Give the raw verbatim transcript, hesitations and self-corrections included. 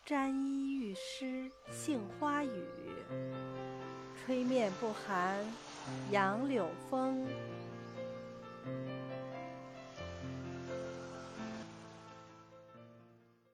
沾衣欲湿杏花雨，吹面不寒杨柳风。